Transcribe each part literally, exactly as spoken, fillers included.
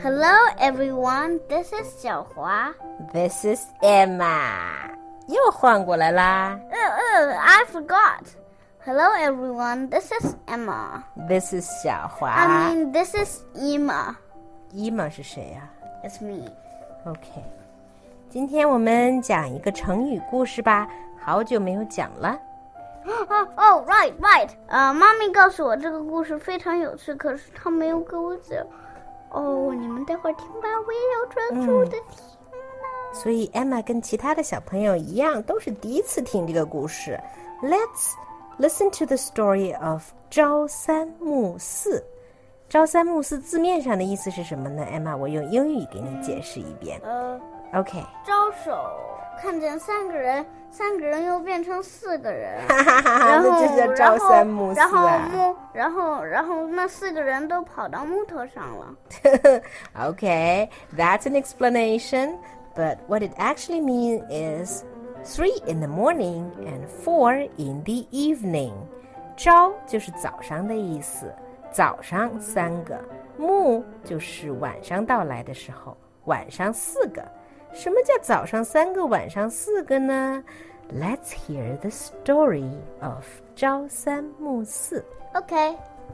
Hello, everyone. This is 小华。 This is Emma. 又换过来啦。 Uh, uh, I forgot. Hello, everyone. This is Emma. This is 小华。 I mean, this is Emma. Emma 是谁呀、 啊、？It's me. OK. 今天我们讲一个成语故事吧，好久没有讲了。 哦哦 right, right. 呃，妈咪告诉我这个故事非常有趣，可是她没有给我讲。哦，你们待会儿听吧，我也要专注的听呢、 嗯。所以 Emma 跟其他的小朋友一样，都是第一次听这个故事。Let's listen to the story of 朝三暮四。朝三暮四字面上的意思是什么呢 ？Emma， 我用英语给你解释一遍。 呃 ，OK。 招手看见三个人，三个人又变成四个人， 然后那就叫朝三暮四啊。 然后木，然后然后那四个人都跑到木头上了。 Okay, that's an explanation, but what it actually means is three in the morning and four in the evening. 朝就是早上的意思，早上三个，暮就是晚上到来的时候，晚上四个。什么叫早上三个，晚上四个呢？ Let's hear the story of 朝三暮四。 Okay.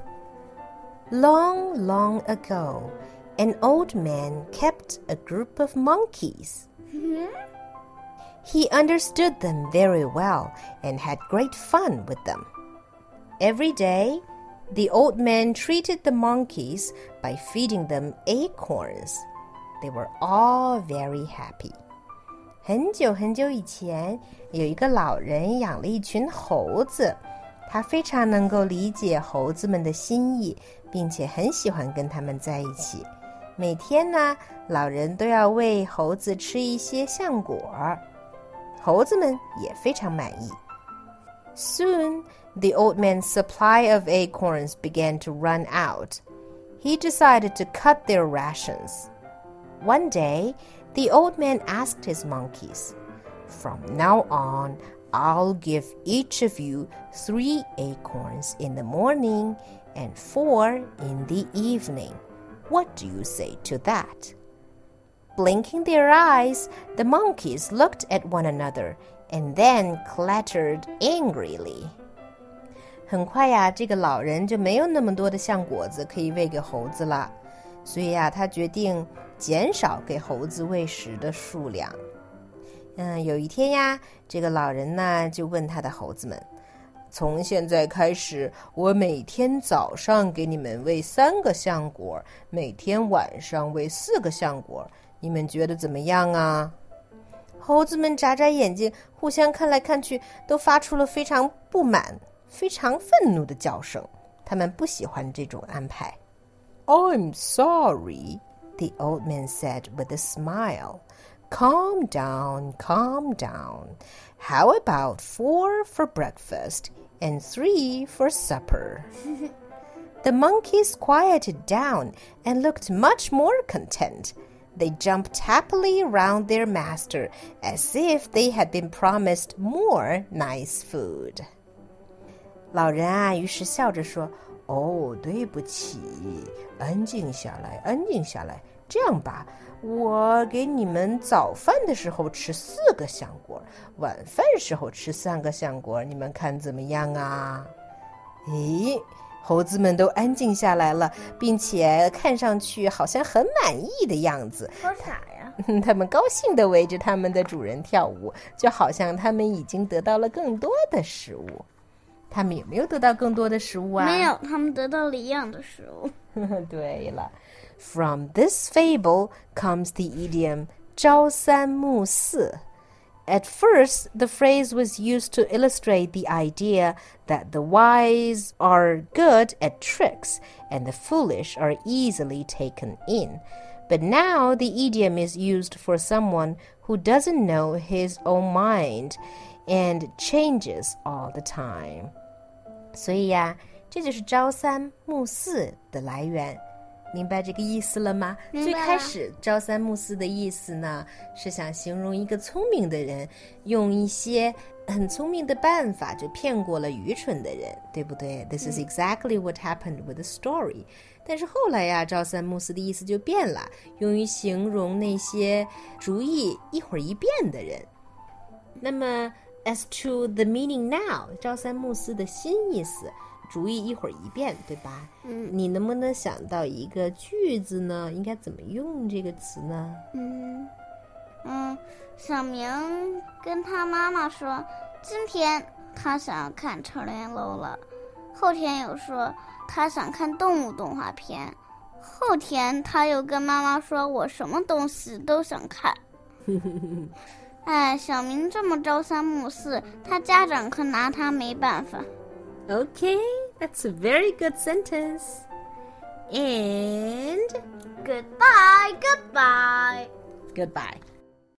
Long, long ago, an old man kept a group of monkeys. Mm-hmm. He understood them very well and had great fun with them. Every day, the old man treated the monkeys by feeding them acorns.They were all very happy. 很久很久以前，有一个老人养了一群猴子，他非常能够理解猴子们的心意，并且很喜欢跟他们在一起。每天呢，老人都要喂猴子吃一些橡果，猴子们也非常满意。Soon, the old man's supply of acorns began to run out. He decided to cut their rations.One day, the old man asked his monkeys, "From now on, I'll give each of you three acorns in the morning and four in the evening. What do you say to that?" Blinking their eyes, the monkeys looked at one another and then clattered angrily. 很快呀，这个老人就没有那么多的橡果子可以喂给猴子了，所以呀，他决定减少给猴子喂食的数量。嗯，有一天呀，这个老人呢就问他的猴子们，从现在开始，我每天早上给你们喂三个橡果，每天晚上喂四个橡果，你们觉得怎么样啊？猴子们眨眨眼睛，互相看来看去，都发出了非常不满、非常愤怒的叫声。他们不喜欢这种安排。I'm sorry,The old man said with a smile. Calm down, calm down. How about four for breakfast and three for supper? The monkeys quieted down and looked much more content. They jumped happily around their master as if they had been promised more nice food. 老人啊，于是笑着说，哦，对不起，安静下来，安静下来。这样吧，我给你们早饭的时候吃四个橡果，晚饭时候吃三个橡果，你们看怎么样啊？咦，猴子们都安静下来了，并且看上去好像很满意的样子。 好傻呀！ 他们高兴地围着他们的主人跳舞，就好像他们已经得到了更多的食物。他们有没有得到更多的食物啊？ 没有，他们得到了一样的食物。 对了。From this fable comes the idiom 朝三暮四. At first, the phrase was used to illustrate the idea that the wise are good at tricks and the foolish are easily taken in. But now the idiom is used for someone who doesn't know his own mind and changes all the time. 所以呀，这就是朝三暮四的来源。 明白这个意思了吗？ 明白了。 最开始朝三暮四的意思呢，是想形容一个聪明的人用一些很聪明的办法就骗过了愚蠢的人，对不对？ This is exactly what happened with the story。 但是后来呀，朝三暮四的意思就变了，用于形容那些主意一会儿一变的人。那么 as to the meaning now， 朝三暮四的新意思，主意一会儿一变，对吧？ 嗯， 你能不能想到一个句子呢？应该怎么用这个词呢？ 嗯嗯，小明跟他妈妈说，今天他想要看超人楼了，后天又说他想看动物动画片，后天他又跟妈妈说我什么东西都想看。哎，小明这么朝三暮四，他家长可拿他没办法。 Okay, that's a very good sentence. And Goodbye, goodbye. goodbye.